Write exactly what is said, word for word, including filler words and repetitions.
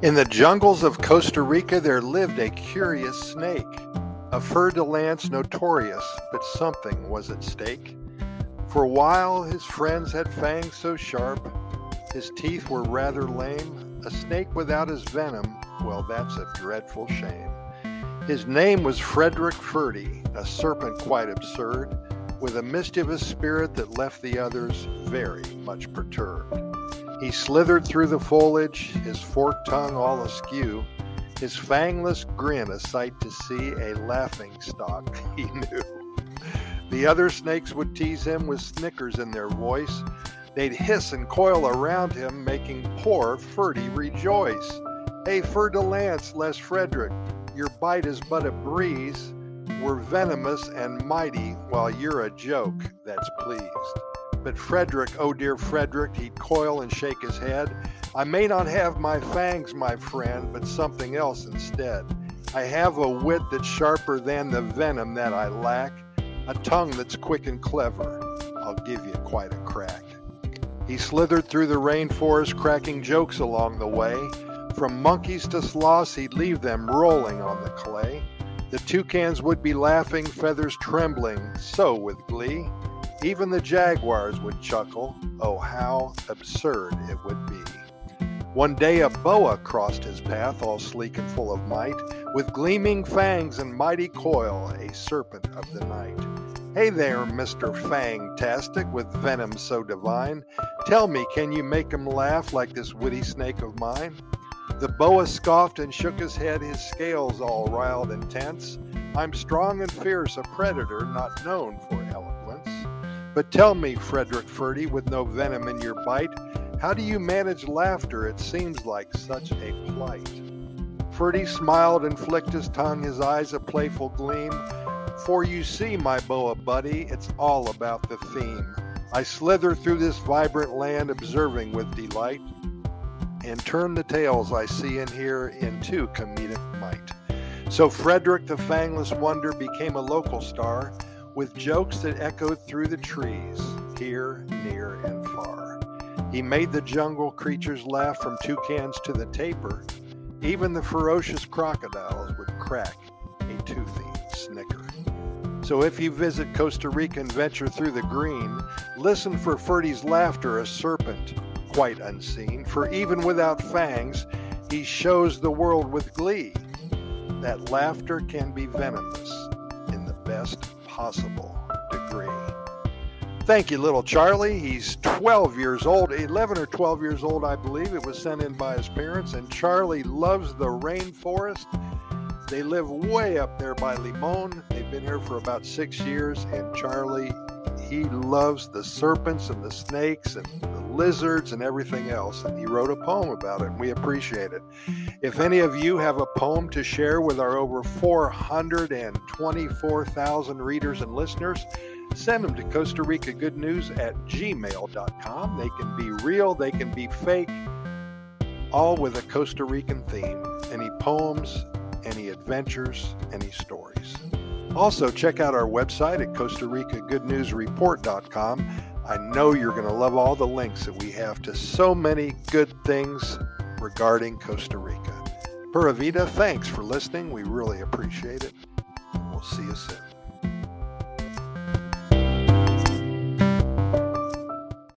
In the jungles of Costa Rica there lived a curious snake, a fer-de-lance notorious, but something was at stake. For a while his friends had fangs so sharp, his teeth were rather lame. A snake without his venom, well, that's a dreadful shame. His name was Frederick Ferdy, a serpent quite absurd, with a mischievous spirit that left the others very much perturbed. He slithered through the foliage, his forked tongue all askew, his fangless grin a sight to see, a laughing stock he knew. The other snakes would tease him with snickers in their voice. They'd hiss and coil around him, making poor Ferdy rejoice. Hey, fer-de-lance, Les Frederick, your bite is but a breeze. We're venomous and mighty, while you're a joke that's pleased. But Frederick, oh dear Frederick, he'd coil and shake his head. I may not have my fangs, my friend, but something else instead. I have a wit that's sharper than the venom that I lack, a tongue that's quick and clever. I'll give you quite a crack. He slithered through the rainforest, cracking jokes along the way. From monkeys to sloths, he'd leave them rolling on the clay. The toucans would be laughing, feathers trembling, so with glee. Even the jaguars would chuckle. Oh, how absurd it would be. One day a boa crossed his path, all sleek and full of might, with gleaming fangs and mighty coil, a serpent of the night. Hey there, Mister Fang-tastic, with venom so divine. Tell me, can you make him laugh like this witty snake of mine? The boa scoffed and shook his head, his scales all riled and tense. I'm strong and fierce, a predator not known for eloquence. But tell me, Frederick Ferdy, with no venom in your bite, how do you manage laughter? It seems like such a plight. Ferdy smiled and flicked his tongue, his eyes a playful gleam. For you see, my boa buddy, it's all about the theme. I slither through this vibrant land, observing with delight, and turn the tales I see and hear into comedic might. So Frederick the Fangless Wonder became a local star, with jokes that echoed through the trees, here, near, and far. He made the jungle creatures laugh, from toucans to the tapir. Even the ferocious crocodiles would crack a toothy snicker. So if you visit Costa Rica and venture through the green, listen for Ferdy's laughter, a serpent quite unseen. For even without fangs, he shows the world with glee that laughter can be venomous in the best possible degree. Thank you, little Charlie. He's twelve years old, eleven or twelve years old, I believe. It was sent in by his parents, and Charlie loves the rainforest. They live way up there by Limon. They've been here for about six years, and Charlie, he loves the serpents and the snakes and the lizards and everything else, and he wrote a poem about it, and we appreciate it. If any of you have a poem to share with our over four hundred twenty-four thousand readers and listeners, send them to Costa Rica Good News at gmail dot com. They can be real, they can be fake, all with a Costa Rican theme. Any poems, any adventures, any stories. Also, check out our website at Costa Rica Good News Report dot com. I know you're going to love all the links that we have to so many good things regarding Costa Rica. Pura Vida, thanks for listening. We really appreciate it. We'll see you soon.